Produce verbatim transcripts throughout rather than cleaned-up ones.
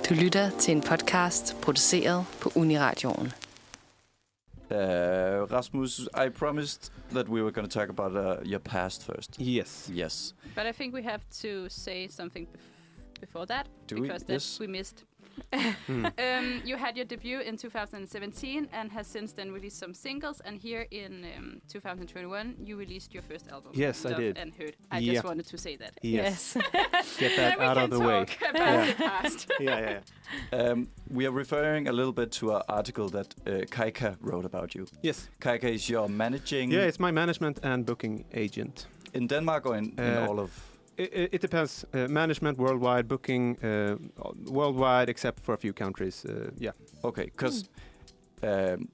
Du lytter til en podcast produceret på Uniradioen. Uh, Rasmus, I promised that we were going to talk about uh, your past first. Yes. Yes. But I think we have to say something bef- before that, Do because we? that Yes. we missed. Mm. um, you had your debut in two thousand seventeen and has since then released some singles. And here in um, two thousand twenty-one, you released your first album. Yes, I Love did. And Hurt. I Yeah. just wanted to say that. Yes. Get Then that we out can of the way. talk about Yeah. the past. yeah, yeah, yeah. Um, we are referring a little bit to an article that uh, Kaika wrote about you. Yes. Kaika is your managing Yeah, it's my management and booking agent. in Denmark or in, in Uh, all of... It, it, it depends. Uh, management worldwide, booking uh, worldwide, except for a few countries. Uh, yeah. Okay, because um,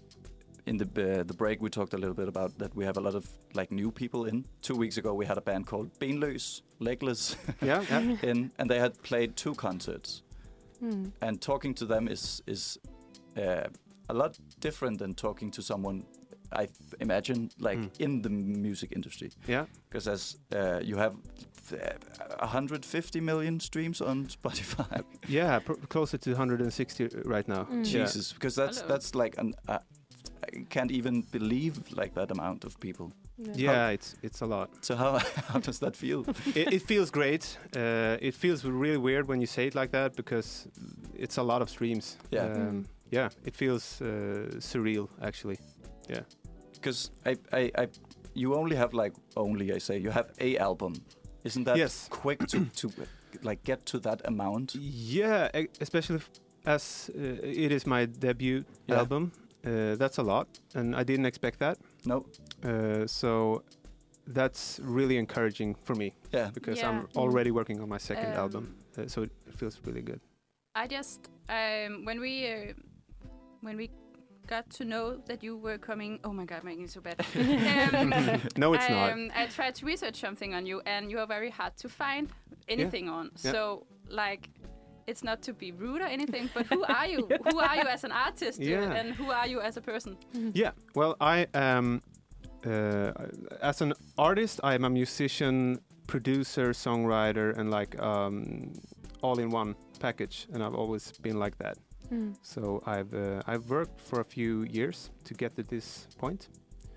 in the uh, the break we talked a little bit about that we have a lot of like new people in. Two weeks ago we had a band called Benløs, Legless, Yeah. yeah. in, and they had played two concerts. Mm. And talking to them is is uh, a lot different than talking to someone, I th- imagine, like Mm. in the music industry. Yeah. Because as uh, you have uh, one hundred fifty million streams on Spotify. Yeah. Pr- closer to one hundred sixty right now. Mm. Yeah. Jesus, because that's Hello. that's like an. Uh, I can't even believe like that amount of people. Yeah, it's it's a lot. So how how does that feel? it, it feels great. Uh, it feels really weird when you say it like that because it's a lot of streams. Yeah. Um, Mm. Yeah. It feels uh, surreal actually. Yeah. Because I, I I you only have like only I say you have a album, isn't that Yes. quick to to like get to that amount? Yeah, e- especially f- as uh, it is my debut Yeah. album. Uh, that's a lot, and I didn't expect that. No. Uh, so that's really encouraging for me Yeah. because Yeah. I'm already working on my second Um, album. Uh, so it feels really good. I just um, when we uh, when we got to know that you were coming. Oh my God, making it so bad. um, No, it's I, not. Um, I tried to research something on you, and you are very hard to find anything on. Yeah. So, like, it's not to be rude or anything, but who are you? Who are you as an artist, uh, Yeah. and who are you as a person? Yeah, well, I am, uh, as an artist, I am a musician, producer, songwriter, and like um, all in one package, and I've always been like that. Mm. So I've uh, I've worked for a few years to get to this point,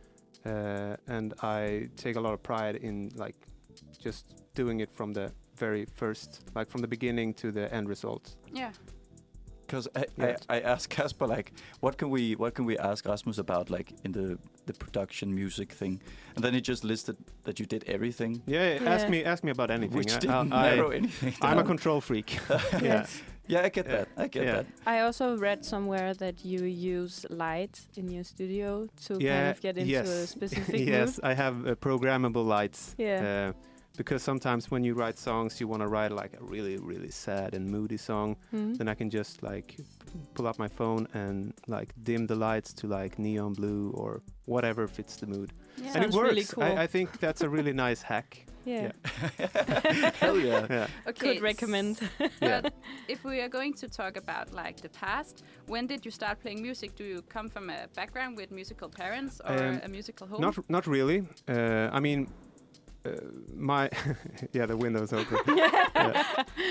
uh, and I take a lot of pride in like just doing it from the very first, like from the beginning to the end result. Yeah. Because I, Yeah. I, I asked Kasper like, what can we what can we ask Rasmus about like in the the production music thing, and then he just listed that you did everything, Yeah, Yeah. ask me ask me about anything. which I- didn't I- narrow I, anything. I'm a down. control freak. yeah. Yes. Yeah, I get Yeah. that. I get Yeah. that. I also read somewhere that you use light in your studio to Yeah, kind of get into yes. a specific Yes, I have uh, programmable lights. Yeah. Uh, because sometimes when you write songs, you want to write like a really, really sad and moody song. mood. Mm. Then I can just like pull up my phone and like dim the lights to like neon blue or whatever fits the mood. Yeah. And it Sounds works. really cool. I, I think that's a really nice hack. Yeah. Yeah. Hell yeah. Yeah. Okay. Could recommend. Yeah. But if we are going to talk about like the past, when did you start playing music? Do you come from a background with musical parents or Um, a musical home? Not not really. Uh, I mean, uh, my yeah, the window's open. Yeah.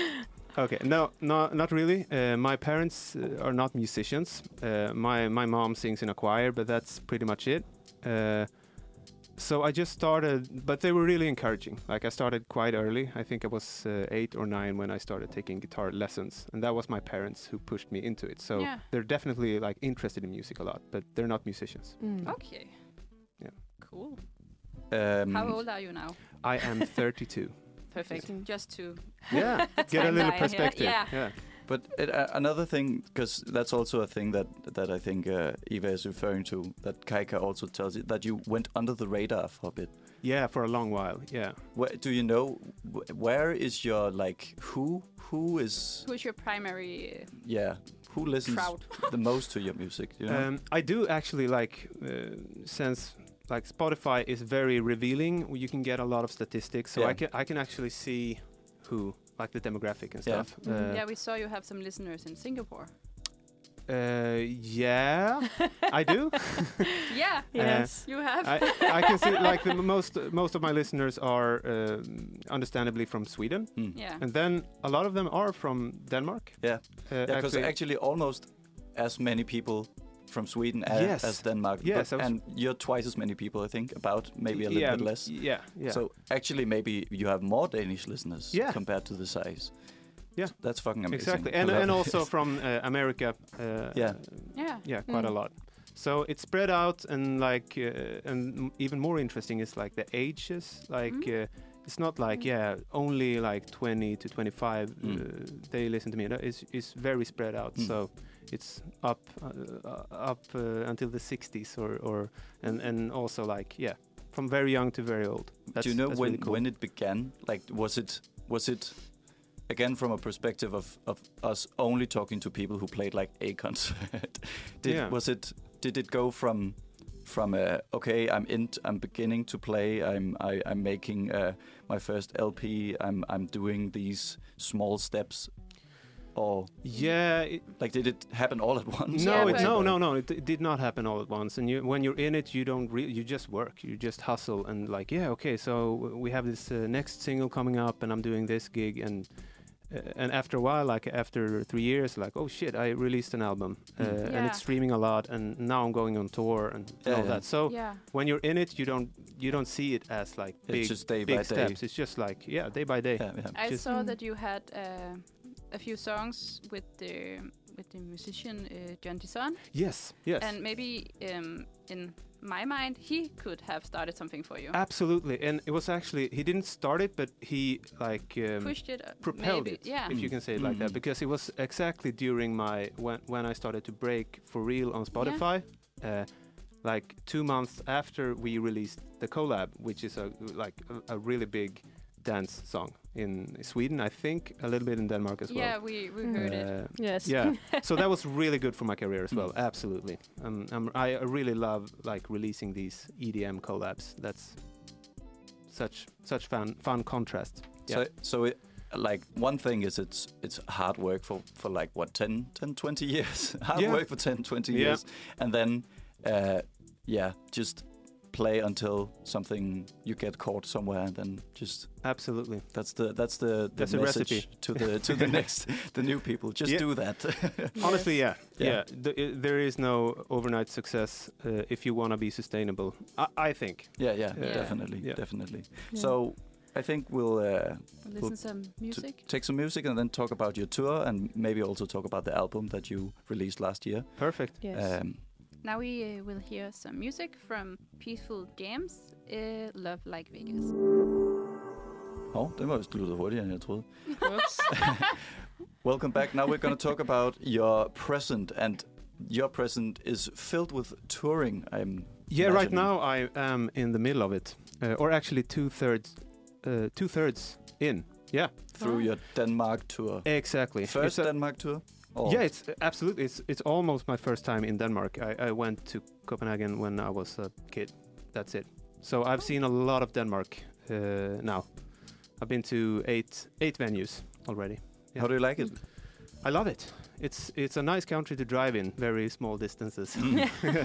Okay, no, no, not really. Uh, my parents uh, are not musicians. Uh, my my mom sings in a choir, but that's pretty much it. Uh, so I just started, but they were really encouraging. Like I started quite early. I think I was uh, eight or nine when I started taking guitar lessons, and that was my parents who pushed me into it. So Yeah. they're definitely like interested in music a lot, but they're not musicians. Mm. Okay. Yeah. Cool. Um, How old are you now? I am thirty-two. Perfect. Mm. Just to Yeah, get a little timeline here. perspective. Yeah. yeah. But it, uh, another thing, because that's also a thing that that I think uh, Eva is referring to, that Kaika also tells you that you went under the radar for a bit. Yeah, for a long while. Yeah. Where, do you know wh- where is your like who who is who's your primary uh, yeah who listens crowd? the most to your music? You know? Um, I do actually like uh, since like Spotify is very revealing. You can get a lot of statistics, so Yeah. I can I can actually see who like the demographic and Yeah. stuff. Mm. Uh, Yeah, we saw you have some listeners in Singapore. Uh, yeah, I do. Yeah, Yes. you have. I, I can see like the most most of my listeners are uh, understandably from Sweden, Mm. yeah. and then a lot of them are from Denmark. Yeah, Uh, yeah, because actually- actually almost as many people from Sweden as, Yes. as Denmark. Yes, but, I was- and you're twice as many people, I think, about maybe a little yeah, bit less. Yeah, yeah. So actually, maybe you have more Danish listeners Yeah. compared to the size. Yeah. That's fucking amazing. exactly, I and love and it. also from uh, America. Uh, Yeah. Yeah. yeah, quite a Mm. lot. So it's spread out, and like, uh, and m- even more interesting is like the ages. Like, Mm. uh, it's not like yeah, only like twenty to twenty-five. Mm. Uh, they listen to me. No, It's it's very spread out. Mm. So it's up uh, uh, up uh, until the sixties, or or and and also like yeah, from very young to very old. That's, Do you know that's when really cool. when it began? Like, was it was it again from a perspective of of us only talking to people who played like a concert? did Yeah. was it did it go from from uh, okay, I'm in, I'm beginning to play, I'm I, I'm making uh, my first L P, I'm I'm doing these small steps, or Yeah, it, like did it happen all at once? no, Yeah, it, but- no, no, no. It, it did not happen all at once. And you, when you're in it, you don't. Re- you just work. You just hustle and like, yeah, okay. So we have this uh, next single coming up, and I'm doing this gig, and uh, and after a while, like after three years, like, oh shit, I released an album, uh, Mm. and Yeah. it's streaming a lot, and now I'm going on tour and Yeah, all yeah. that. So Yeah. when you're in it, you don't you don't see it as like It's big just day big by day. steps. It's just like yeah, day by day. Yeah, yeah. I Just- saw Mm. that you had uh, a few songs with the with the musician uh, John Dison, Yes, yes. and maybe um, in my mind he could have started something for you. Absolutely, and it was actually he didn't start it, but he like um, Pushed it, uh, propelled maybe. it, Yeah. if you can say it like Mm. that, because it was exactly during my when when I started to break for real on Spotify, uh, like two months after we released the collab, which is a like a, a really big dance song in Sweden, I think a little bit in Denmark as well. Yeah, we we Mm. heard it. Uh, Yes. yeah, so that was really good for my career as well. Mm. Absolutely, um, um, I I really love like releasing these E D M collabs. That's such such fun fun contrast. So, so it, like one thing is it's it's hard work for, for like what ten, ten, twenty years. hard Yeah. work for ten, twenty Yeah. years, and then uh, yeah, just play until something you get caught somewhere, and then just Absolutely. that's the that's the, the That's a message recipe. to the to the next the new people. Just Yeah. do that. Honestly, yeah, Yeah. yeah. The, i there is no overnight success uh, if you want to be sustainable. I, I think. yeah, yeah, Yeah. definitely, Yeah. definitely. Yeah. So I think we'll. Uh, Listen some music. take some music and then talk about your tour, and maybe also talk about the album that you released last year. Perfect. Yes. Um, Now we uh, will hear some music from Peaceful Jams, uh, Love Like Vegas. oh, det var vist lyttet hurtigere, end jeg troede. Whoops. Welcome back. Now we're going to talk about your present, and your present is filled with touring. I'm Yeah, right imagining. now I am in the middle of it, uh, or actually two thirds, uh, two thirds in. Yeah, through Oh. your Denmark tour. exactly. First It's a- Denmark tour? Or Yeah, it's uh, absolutely. It's it's almost my first time in Denmark. I, I went to Copenhagen when I was a kid. That's it. So I've seen a lot of Denmark uh, now. I've been to eight eight venues already. Yeah. How do you like it? I love it. It's it's a nice country to drive in, very small distances. Mm.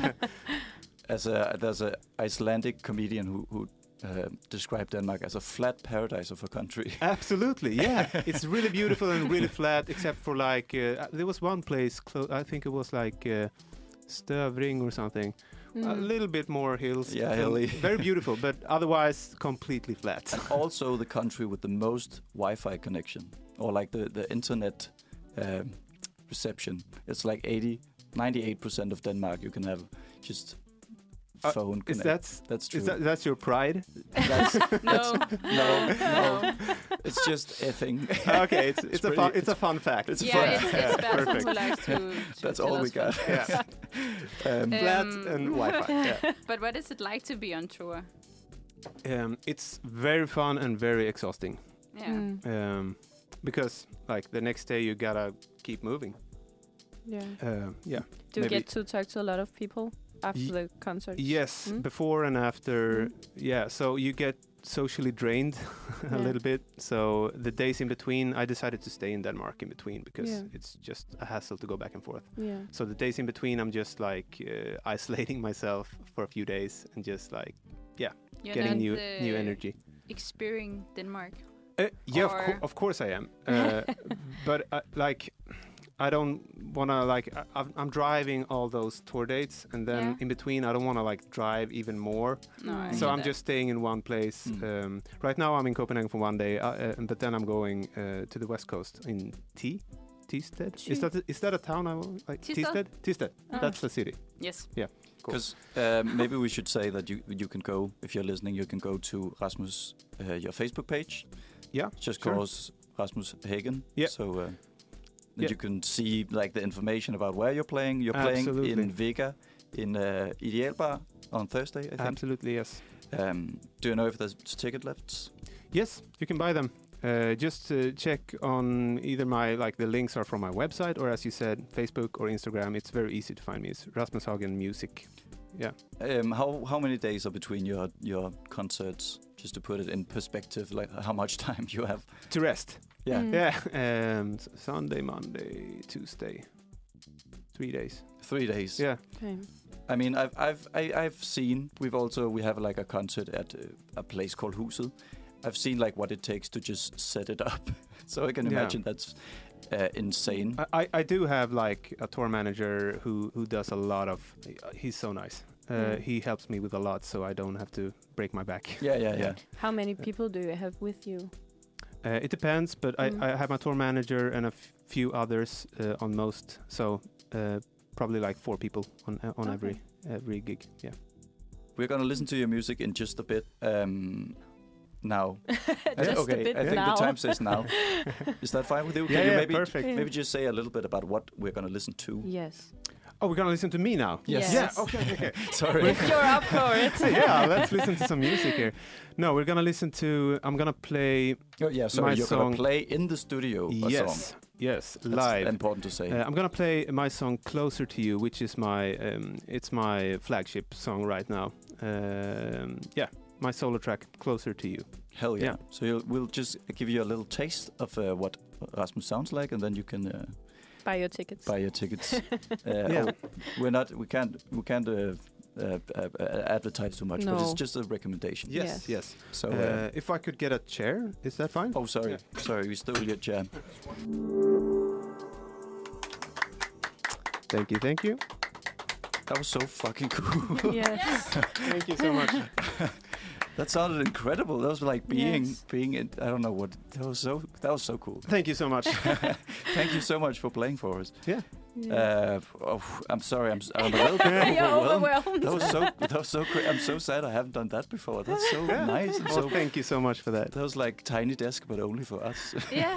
As a there's a Icelandic comedian who who uh, described Denmark as a flat paradise of a country. Absolutely, yeah. It's really beautiful and really flat, except for like uh, there was one place. Clo- I think it was like uh, Støvring or something. A Mm. little bit more hills. Yeah, and hilly. Very beautiful, but otherwise completely flat. And also the country with the most Wi-Fi connection, or like the the internet um, reception. It's like eighty, ninety-eight percent of Denmark you can have just Uh, phone Is connect. that That's true. is that that's your pride? That's, No, no, no. It's just a thing. Okay, it's it's, a fun pretty- it's a fun fact. it's a yeah, fun- it's, it's Basil Perfect. who likes to, to That's tell all we us got. fun Yeah. facts. Um, Flat Um, and Wi-Fi. Yeah. But what is it like to be on tour? Um, it's very fun and very exhausting. Yeah. Mm. Um, because like the next day you gotta keep moving. Yeah. Uh, yeah. Do you maybe- get to talk to a lot of people after Ye- the concert? Yes, Mm. before and after. Mm. Yeah, so you get socially drained a Yeah. little bit. So the days in between, I decided to stay in Denmark in between because Yeah. it's just a hassle to go back and forth. Yeah. So the days in between, I'm just like uh, isolating myself for a few days and just like You're getting not, new uh, new energy. Experiencing Denmark. Uh, yeah, of, Or- cour- of course I am. Uh, but uh, like, I don't want to like. I, I'm- I'm driving all those tour dates, and then Yeah. in between, I don't want to like drive even more. No, I Mm. So get I'm that. just staying in one place. Mm. Um, right now, I'm in Copenhagen for one day, uh, uh, but then I'm going uh, to the west coast in T. Tisted. Is Thy. that is that a town? I will- like Tisted? Tisted. Tisted. Ah. That's the city. Yes. Cool. Because uh, maybe we should say that you you can go, if you're listening, you can go to Rasmus, uh, your Facebook page. Yeah, Just sure. call us Rasmus Hagen. Yeah. So uh, then Yeah. you can see like the information about where you're playing. You're playing Absolutely. in Vega, in uh, Idealbar on Thursday, I think. Absolutely, yes. Um, do you know if there's ticket left? Yes, you can buy them. Uh, just uh, check on either my like the links are from my website or, as you said, Facebook or Instagram. It's very easy to find me. It's Rasmus Hagen Music. Yeah. Um, how how many days are between your your concerts? Just to put it in perspective, like how much time you have? To rest. Yeah, Mm. Yeah. Um, s- Sunday, Monday, Tuesday. Three days. three days. Yeah. Okay. I mean, I've I've I, I've seen. We've also we have like a concert at uh, a place called Huset. I've seen like what it takes to just set it up. So I can Yeah. imagine that's uh, insane. I, I I do have like a tour manager who who does a lot of. He's so nice. Uh, Mm. He helps me with a lot, so I don't have to break my back. Yeah, yeah, yeah. How many people do you have with you? Uh, it depends, but I, Mm. I have my tour manager and a f- few others uh, on most. So uh, probably like four people on uh, on Okay. every every gig. Yeah. We're gonna listen to your music in just a bit. Um, now. Just okay, a bit I think now. the time says now. Is that fine with you? Can Yeah, you yeah, maybe perfect. Yeah. maybe just say a little bit about what we're gonna listen to? Yes. Oh, we're gonna listen to me now. Yes. Yeah. Okay. okay, okay. Sorry. If you're up for it. yeah. Let's listen to some music here. No, we're gonna listen to. I'm gonna play. Oh, yeah, sorry. My You're song- gonna play in the studio a yes. song. Yes. That's Live. important to say. Uh, I'm gonna play my song "Closer to You," which is my um, it's my flagship song right now. Um, yeah, my solo track "Closer to You." Hell yeah. yeah. So you'll, we'll just give you a little taste of uh, what Rasmus sounds like, and then you can uh, Buy your tickets. buy your tickets. uh, Yeah. oh, we're not. We can't. We can't. Uh, uh, uh, uh, advertise too much, but No. it's just a recommendation. Yes. Yes. Yes. So, Uh, uh, if I could get a chair, is that fine? oh, sorry, yeah. sorry, we stole your jam. Thank you. Thank you. That was so fucking cool. Yes. Thank you so much. That sounded incredible. That was like being, Yes. being. In, I don't know what. That was so. That was so cool. Thank you so much. Thank you so much for playing for us. Yeah. Yeah. Uh, oh, I'm sorry. I'm, s- I'm a little bit You're overwhelmed. overwhelmed. That was so. That was so. Cra- I'm so sad. I haven't done that before. That's so Yeah. nice. And Well, so thank you so much for that. that was like Tiny Desk, but only for us. Yeah.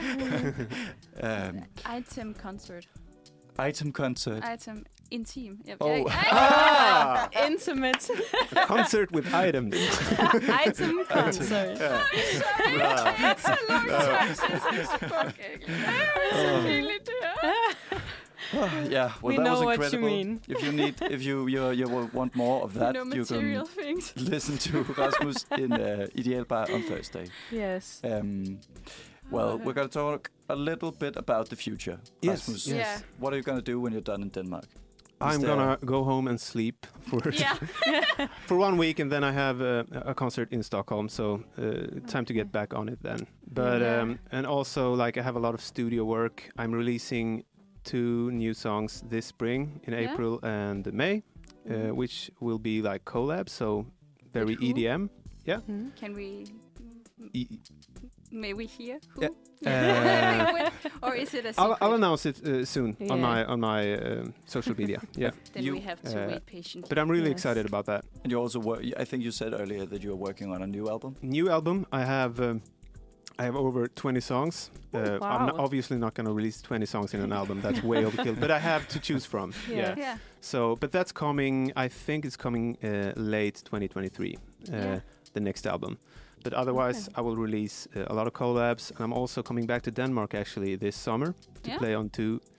um, Item concert. item concert. Item intim. Yep. Oh. Ah, Intimate a concert with items. item concert. Yeah. It's a long time since I spoke English. Oh. Really do. Oh, yeah, well, We that know was what you incredible. mean. If you need, if you you you will want more of that, No you material can things. listen to Rasmus in uh, Idealbar on Thursday. Yes. Um, well, we're going to talk a little bit about the future. Yes, Rasmus, yes. Yeah. what are you going to do when you're done in Denmark? Is I'm there- gonna go home and sleep for Yeah. for one week, and then I have uh, a concert in Stockholm. So uh, time to Okay. get back on it then. But Yeah. um, and also like I have a lot of studio work. I'm releasing two new songs this spring in Yeah. April and May, uh, Mhm. which will be like collabs. So very With who? E D M. Mhm. Can we? E- May we hear who? Yeah. With- or is it a secret? I'll, I'll announce it uh, soon on Yeah. my on my um, social media. Yeah, Then You- we have to uh, wait patiently. but I'm really Yes. excited about that. And you also work. I think you said earlier that you are working on a new album. New album. I have um, I have over twenty songs. Uh, I'm not, wow. obviously not going to release twenty songs in an album. That's way overkill. But I have to choose from. Yeah. Yeah. Yeah. So, but that's coming. I think it's coming uh, late twenty twenty-three. Uh, Yeah. The next album. But otherwise, Okay. I will release uh, a lot of collabs, and I'm also coming back to Denmark actually this summer to Yeah. play on two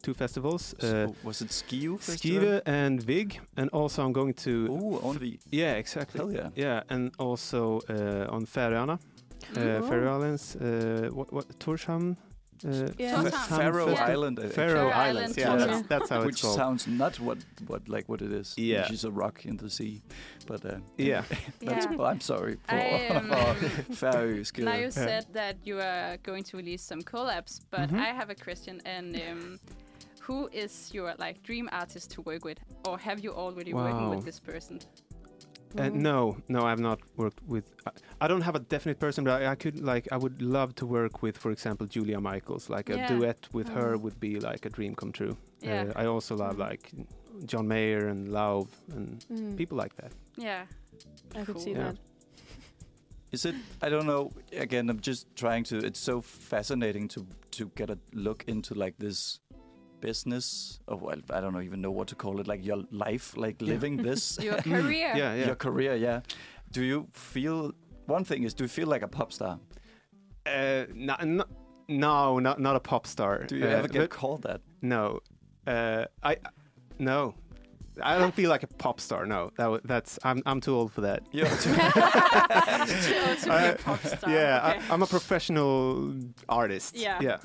two festivals. Uh, So was it Skive Festival? Skive and Vig, and also I'm going to. Ooh, only. Yeah, exactly. Hell yeah. Yeah, and also uh, on Färöarna, uh, Oh. Faroe Islands. Uh, what what Torshavn? Uh, Yeah. Fa- Torshavn. Faroe Festi- Island. I think. Faroe Faroe Islands. Island, Yeah, Torshavn. that's, that's how Which it's called. sounds not what what like what it is. Yeah. Which is a rock in the sea, but uh, Yeah. that's, Yeah. well, I'm sorry for I, um, Faroe Skive. Now you said that you are going to release some collabs, but Mhm. I have a question. And um, who is your like dream artist to work with, or have you already working Wow. with this person? Uh, no, no, I've not worked with. I, I don't have a definite person, but I, I could like. I would love to work with, for example, Julia Michaels. Like a Yeah. duet with her Mm. would be like a dream come true. Yeah. Uh, I also love Mm. like John Mayer and Lauv and Mm. people like that. Yeah. I could see Cool. Yeah. that. Is it? I don't know. Again, I'm just trying to. It's so fascinating to to get a look into like this business. Or well, I don't know, even know what to call it. Like your life, like Yeah. living this, Your career. Yeah, yeah. your career. Yeah. Do you feel? One thing is, do you feel like a pop star? Uh, no, no, no, not not a pop star. Do you Uh, ever get but called that? no, uh, I no, I don't feel like a pop star. No, that w- that's I'm I'm too old for that. Yeah. Too old to be a Uh, pop star. Yeah, Okay. I, I'm a professional artist. Yeah. yeah,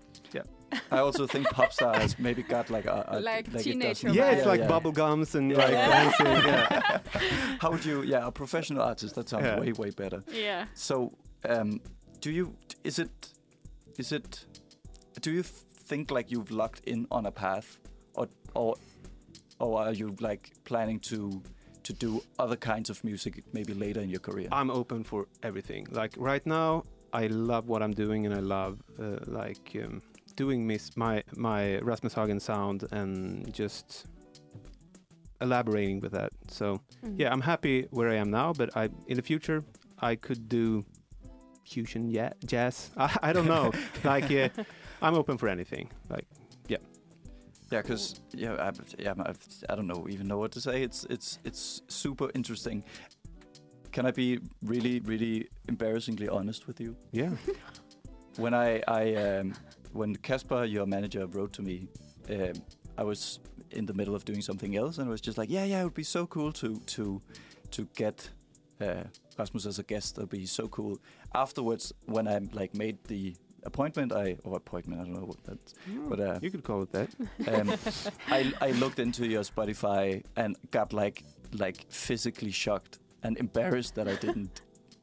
I also think pop star has maybe got like a, a Like it teenager doesn't- yeah. vibe. It's like bubble gums and like Yeah. dancing. Yeah. How would you? Yeah, a professional artist. That sounds Yeah. way way better. Yeah. So, um, do you? Is it? Is it? Do you think like you've locked in on a path, or or or are you like planning to to do other kinds of music maybe later in your career? I'm open for everything. Like right now, I love what I'm doing, and I love uh, like um, doing mis- my my Rasmus Hagen sound and just elaborating with that. So Mm. yeah, I'm happy where I am now, but I in the future I could do fusion yeah, jazz. I, I don't know. like yeah, I'm open for anything. Like Yeah, because yeah, I, yeah, I've, I don't know even know what to say. It's it's it's super interesting. Can I be really really embarrassingly honest with you? yeah, When I I um, when Kasper, your manager, wrote to me, um, I was in the middle of doing something else, and I was just like, yeah, yeah, it would be so cool to to to get uh, Rasmus as a guest. That'd be so cool. Afterwards, when I like made the appointment, I or appointment, I don't know what that's, but uh, you could call it that. um, I I looked into your Spotify and got like like physically shocked and embarrassed that I didn't.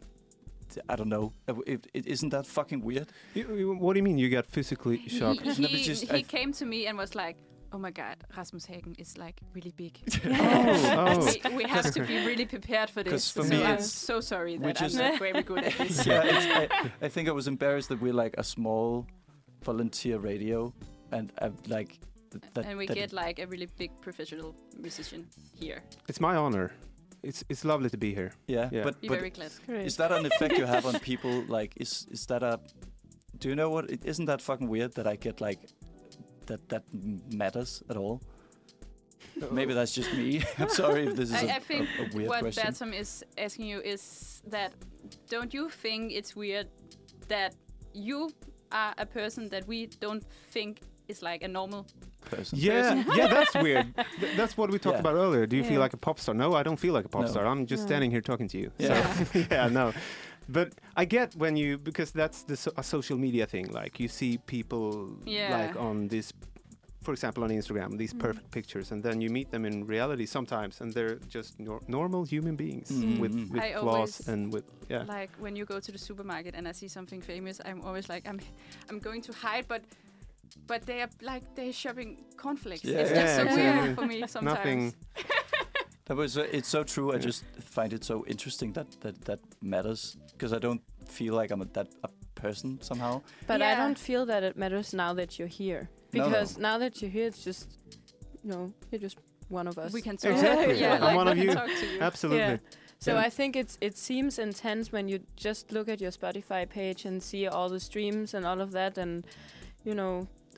I don't know. Uh, It, it, isn't that fucking weird? You- you- what do you mean you got physically He, shocked? No, but he, just- he I- came to me and was like, "Oh my God, Rasmus Hagen is like really big. oh, oh. we, we have to be really prepared for this." 'Cause for so me I'm it's- so sorry that which I'm is- not very good at this. Yeah, it's, I, I think I was embarrassed that we're like a small volunteer radio, and I've like th- that. and we that get like a really big professional musician here. It's my honor. It's it's lovely to be here. yeah, Yeah. but Be but very glad. Great. is that an effect you have on people? Like, is is that a? Do you know what? It, isn't that fucking weird that I get like that that m- matters at all? Maybe that's just me. I'm sorry if this is I, a, I think a, a weird what question. Bertram is asking you is that don't you think it's weird that you are a person that we don't think is like a normal? person. Yeah, yeah, that's weird. Th- that's what we talked Yeah. about earlier. Do you feel Yeah. like a pop star? No, I don't feel like a pop No. star. I'm just No. standing here talking to you. Yeah. So, yeah, no. But I get when you because that's the so, a social media thing. Like you see people Yeah. like on this, for example, on Instagram, these Mm. perfect pictures, and then you meet them in reality sometimes, and they're just nor- normal human beings Mm. with Mm. with I flaws always and with yeah. Like when you go to the supermarket and I see something famous, I'm always like, I'm, I'm going to hide, but, but they are like they're shopping cornflakes. Yeah. It's Yeah, just so exactly. weird for me sometimes. Nothing. That was, uh, it's so true. I Yeah. just find it so interesting that that, that matters because I don't feel like I'm a, that a person somehow. But I Yeah. don't feel that it matters now that you're here. No, no. Because now that you're here, it's just, you know, you're just one of us. We can talk. Exactly. yeah, I'm like one we of can you. talk to you. Absolutely. Yeah. So Yeah. I think it's it seems intense when you just look at your Spotify page and see all the streams and all of that, and you know,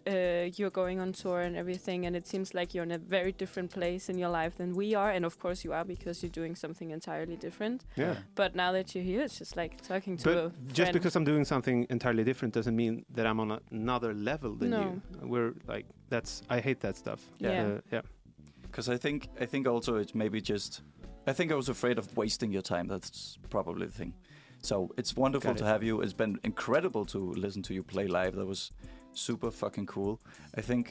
uh, you're going on tour and everything, and it seems like you're in a very different place in your life than we are, and of course you are because you're doing something entirely different. Yeah. But now that you're here, it's just like talking to But a just friend. because I'm doing something entirely different doesn't mean that I'm on a, another level than No. you. We're like that's I hate that stuff. Yeah. Uh, yeah. Because I think I think also it's maybe just I think I was afraid of wasting your time. That's probably the thing. So it's wonderful Got to it. have you. It's been incredible to listen to you play live. That was super fucking cool. I think,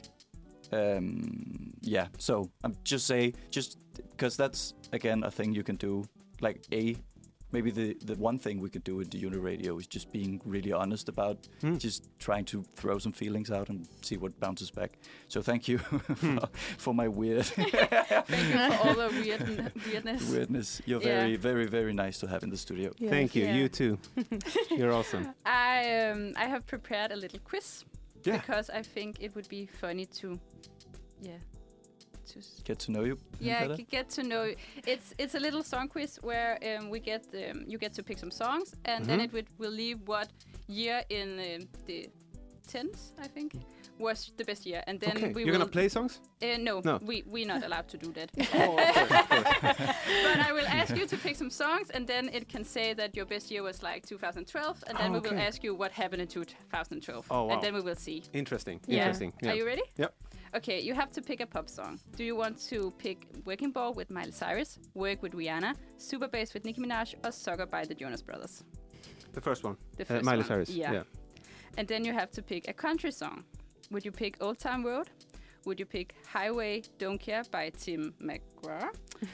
um, yeah. So I'm just say just because that's again a thing you can do. Like a maybe the the one thing we could do with the Uni Radio is just being really honest about Hmm. just trying to throw some feelings out and see what bounces back. So thank you for, for my weird Thank you for all the weird weirdness. weirdness. You're Yeah. very, very, very nice to have in the studio. Yeah. Thank you. Yeah. You too. You're awesome. I um, I have prepared a little quiz Yeah. because I think it would be funny to, yeah, to s- Get to know you. yeah better. g- get to know. you. It's it's a little song quiz where um, we get um, you get to pick some songs, and then Mhm. it would will leave what year in um, the tens I think was the best year, and then Okay. we You're will gonna play songs? Uh, no, No. we we're not allowed to do that. Oh, of course, of course. But I will ask you to pick some songs, and then it can say that your best year was like two thousand twelve, and then Oh, we will okay. ask you what happened in two thousand twelve, Oh, wow. and then we will see. Interesting. Yeah. Interesting. Yeah. Are you ready? Yep. Okay, you have to pick a pop song. Do you want to pick Working Ball with Miley Cyrus, Work with Rihanna, Super Bass with Nicki Minaj, or Sucker by the Jonas Brothers? The first one. The Uh, first Miley one. Cyrus. Yeah. Yeah. And then you have to pick a country song. Would you pick Old Town Road? Would you pick Highway Don't Care by Tim McGraw?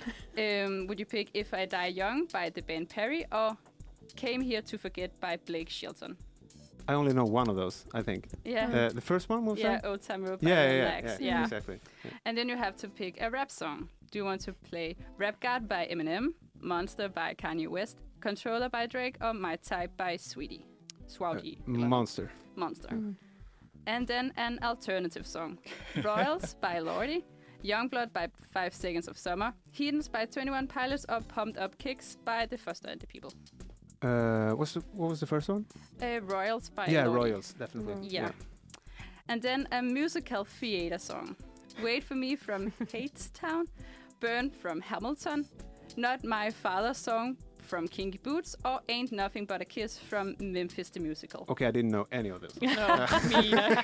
um, would you pick If I Die Young by the band Perry? Or Came Here to Forget by Blake Shelton? I only know one of those. I think. Yeah. Uh, the first one was yeah, that? Old Town Road by Yeah, the yeah, yeah, Lags. yeah, exactly. Yeah. And then you have to pick a rap song. Do you want to play Rap God by Eminem, Monster by Kanye West, Controller by Drake, or My Type by Sweetie? Sweetie. Uh, Monster. Monster. Mm. And then an alternative song. Royals by Lordi, Youngblood by Five Seconds of Summer, Heathens by twenty-one Pilots, or Pumped Up Kicks by The Foster and the People. Uh, what's the, what was the first one? Uh, Royals by yeah, Lordi. Royals, definitely. Yeah. And then a musical theater song. Wait for Me from Hadestown, Burn from Hamilton, Not My Father's Song from Kinky Boots, or Ain't Nothing But a Kiss from Memphis the Musical. Okay, I didn't know any of those. No, me either.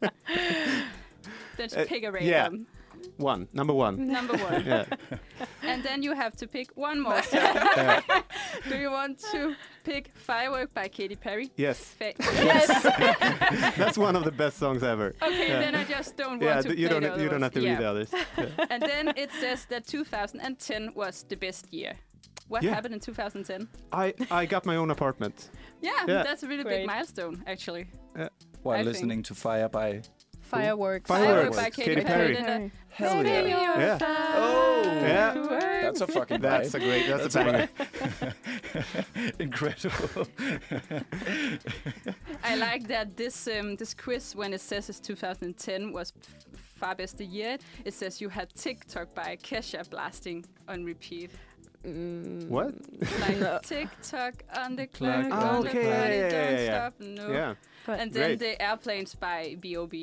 Then just Uh, pick a yeah. random. One, number one. Number one. Yeah. And then you have to pick one more song. Uh, Do you want to pick Firework by Katy Perry? yes, Fa- yes. that's one of the best songs ever. Okay, Yeah. then I just don't want Yeah, to th- play you the don't other you don't ones. have to Yeah. read the others. Yeah. And then it says that two thousand ten was the best year. What Yeah. happened in two thousand ten? I I got my own apartment. Yeah, Yeah. that's a really Great. big milestone, actually. While I listening to Fire by Fireworks. Fireworks. by Katy, Katy Perry. Perry. Then Hell the- yeah. Yeah. Oh, Yeah. That's a fucking That's a vibe. great. That's, That's a a banger. Incredible. I like that this um, this quiz, when it says it's two thousand ten, was f- far best the year. It says you had TikTok by Kesha blasting on repeat. Mm, What? Like No. TikTok on the Clock. clock, Ah, on okay, the party, yeah, yeah, don't yeah. stop, no. Yeah. But And then Great. the airplanes by B O B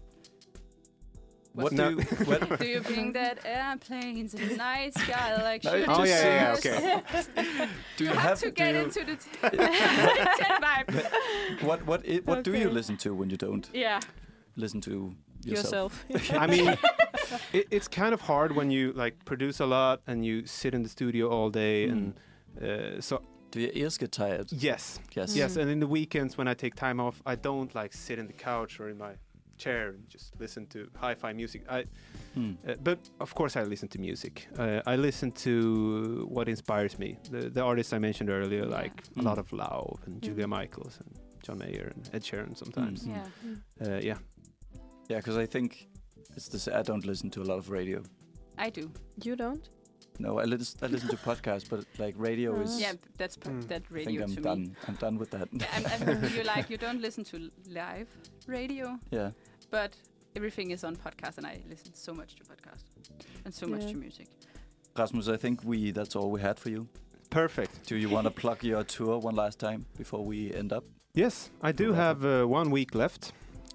What No. do you, what, Do you think that airplanes in the night sky like No, shooting it Oh just yeah, yeah, yeah. says- Okay. do you You have to do get you, into the t- ten vibe. what what i what do you Okay. listen to when you don't Yeah. listen to yourself? yourself. I mean, it, it's kind of hard when you like produce a lot and you sit in the studio all day, Mm. and uh, so Do your ears get tired? yes, Yes. yes. Mm. And in the weekends when I take time off, I don't like sit in the couch or in my chair and just listen to hi-fi music. I, Hmm. uh, but of course, I listen to music. Uh, I listen to what inspires me. The, the artists I mentioned earlier, Yeah. like Mm. a lot of Lau and Mm. Julia Michaels and John Mayer and Ed Sheeran sometimes. Mm. Yeah. Uh, yeah. Yeah, because I think it's this. I don't listen to a lot of radio. I do. You don't? No, I, lis- I listen to podcasts, but like radio is. Yeah, that's p- Mm. that I think radio I'm to done. me. I'm done with that. I'm, I'm, you like you don't listen to live radio, yeah. but everything is on podcast, and I listen so much to podcast and so much Yeah. to music. Rasmus, I think we that's all we had for you. Perfect. Do you want to plug your tour one last time before we end up? Yes, I do Alright. have uh, one week left.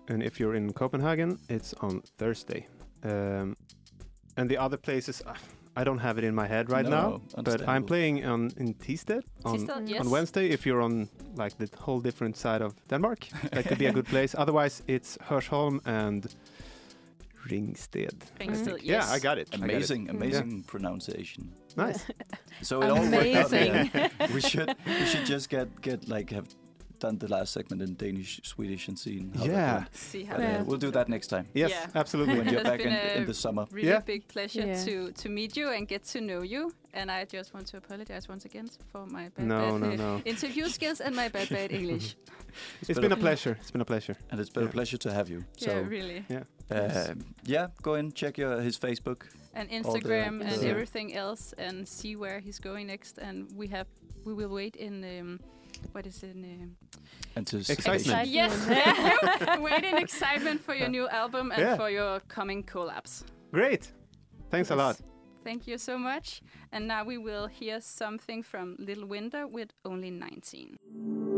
and if you're in Copenhagen, it's on Thursday. Um, and the other places, uh, I don't have it in my head right No, now, but I'm understandable. playing on in Thisted on, Thisted, yes. on Wednesday. If you're on like the whole different side of Denmark, that could be a good place. Otherwise, it's Hørsholm and Ringsted. I Ringsted, think. yes. Yeah, I got it. I got it. Amazing, amazing pronunciation. Nice. So it all worked out. Amazing. Yeah. we should we should just get get like have done the last segment in Danish, Swedish, and seen how that Yeah. went. See how But, uh, Yeah. we'll do that next time Yes, Yeah. absolutely. when you're It's back in, been a in the summer. really Yeah. big pleasure Yeah. to to meet you and get to know you. And I just want to apologize once again for my bad, No, bad no, uh, no. interview skills and my bad bad English. It's been a pleasure. It's been a pleasure. And it's been Yeah. a pleasure to have you. So Yeah, really. Yeah. um, yeah, go and check your his Facebook. And the- Instagram and Yeah. everything else, and see where he's going next. And we have we will wait in um, what is it? In, um, Anticipation. Excitement. yes, wait in excitement for your new album and Yeah. for your coming collabs. Great. Thanks a lot. Yes. Thank you so much. And now we will hear something from Little Winter with Only nineteen.